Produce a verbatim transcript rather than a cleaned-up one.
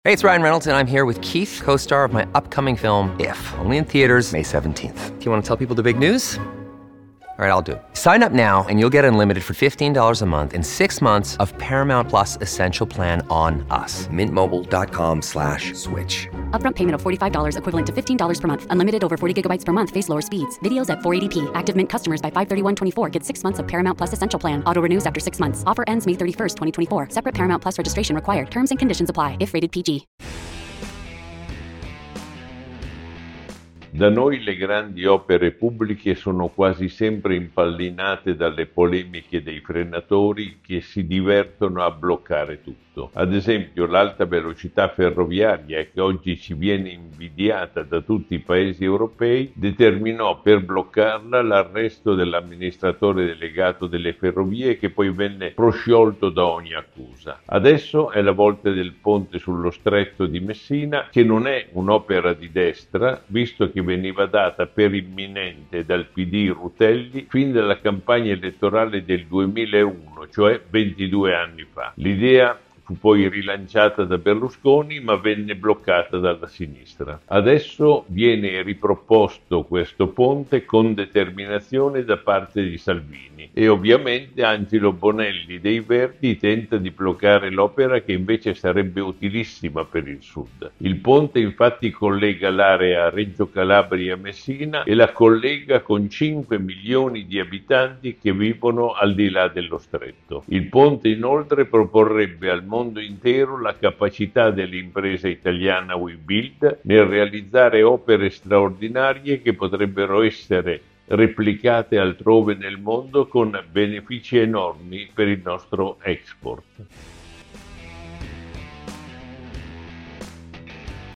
Hey, it's Ryan Reynolds, and I'm here with Keith, co-star of my upcoming film, If, only in theaters May seventeenth. Do you want to tell people the big news? All right, I'll do it. Sign up now and you'll get unlimited for fifteen dollars a month and six months of Paramount Plus Essential Plan on us. Mint Mobile dot com slash switch. Upfront payment of forty-five dollars equivalent to fifteen dollars per month. Unlimited over forty gigabytes per month. Face lower speeds. Videos at four eighty p. Active Mint customers by five thirty-one twenty-four get six months of Paramount Plus Essential Plan. Auto renews after six months. Offer ends May thirty-first, twenty twenty-four. Separate Paramount Plus registration required. Terms and conditions apply if rated P G. Da noi le grandi opere pubbliche sono quasi sempre impallinate dalle polemiche dei frenatori che si divertono a bloccare tutto. Ad esempio, l'alta velocità ferroviaria, che oggi ci viene invidiata da tutti i paesi europei, determinò per bloccarla l'arresto dell'amministratore delegato delle ferrovie, che poi venne prosciolto da ogni accusa. Adesso è la volta del ponte sullo Stretto di Messina, che non è un'opera di destra, visto che veniva data per imminente dal P D Rutelli fin dalla campagna elettorale del duemilauno, cioè ventidue anni fa. L'idea fu poi rilanciata da Berlusconi, ma venne bloccata dalla sinistra. Adesso viene riproposto questo ponte con determinazione da parte di Salvini e ovviamente Angelo Bonelli dei Verdi tenta di bloccare l'opera, che invece sarebbe utilissima per il sud. Il ponte infatti collega l'area Reggio Calabria-Messina e la collega con cinque milioni di abitanti che vivono al di là dello stretto. Il ponte inoltre proporrebbe al mondo intero la capacità dell'impresa italiana Webuild nel realizzare opere straordinarie che potrebbero essere replicate altrove nel mondo con benefici enormi per il nostro export.